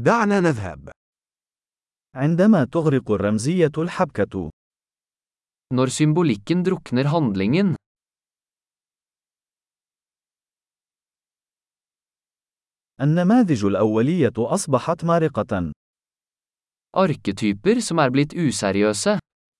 دعنا نذهب. عندما تغرق الرمزية الحبكة. Når symbolikken drukner handlingen. النماذج الأولية أصبحت مارقة. Arketyper som blitt useriøse.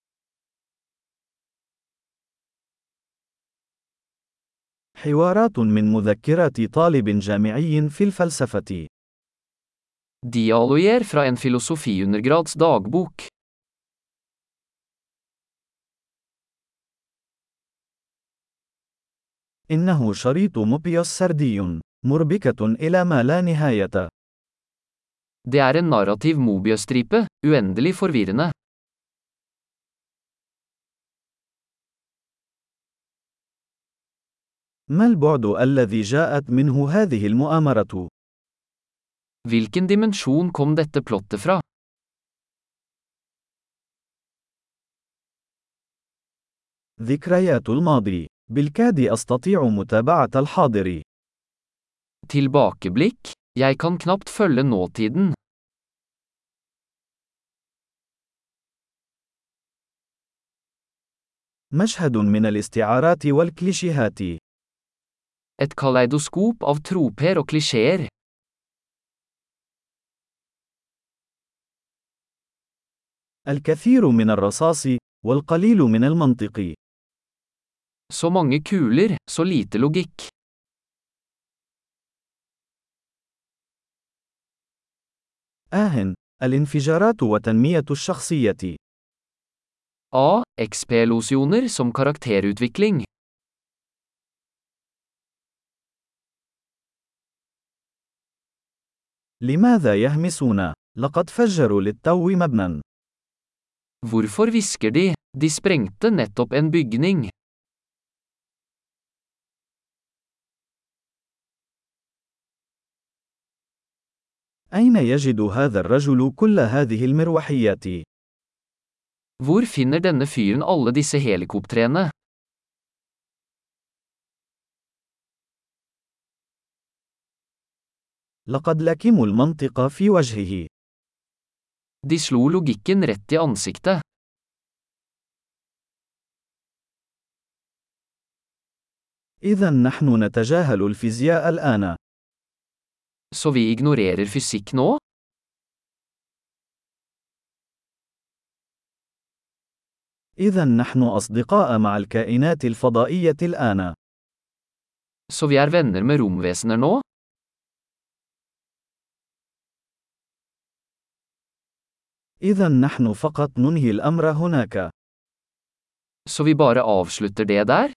حوارات من مذكرات طالب جامعي في الفلسفة. Dialoger fra en filosofiundergrads dagbok. إنه شريط موبيوس سردي، مربكة إلى ما لا نهاية. Det en narrativ Mobius-stripe, uendelig forvirrende. ما البعد الذي جاءت منه هذه المؤامرة؟ Hvilken dimensjon kom dette plottet fra? ذكريات الماضي. بالكاد أستطيع متابعة الحاضر. Tilbakeblikk. Jeg kan knapt følge nåtiden. مشهد من الاستعارات والكليشيهات. Et kaleidoskop av troper og klisjeer. الكثير من الرصاص، والقليل من المنطق. Så mange kuler, så lite logikk. الانفجارات وتنمية الشخصية. Explosioner som karakterutvikling. لماذا يهمسون؟ لقد فجروا للتو مبنى. Hvorfor hvisker de? De sprengte nettopp en bygning. أين يجد هذا الرجل كل هذه المروحيات؟ Hvor finner denne fyren alle disse helikoptrene? لقد لكموا المنطق في وجهه. De slo logikken rett i ansiktet. إذا نحن نتجاهل الفيزياء الآن. Så vi ignorerer fysikk nå? إذا نحن أصدقاء مع الكائنات الفضائية الآن. Så vi venner med romvesener nå? إذا نحن فقط ننهي الأمر هناك. Så vi bare avslutter det der?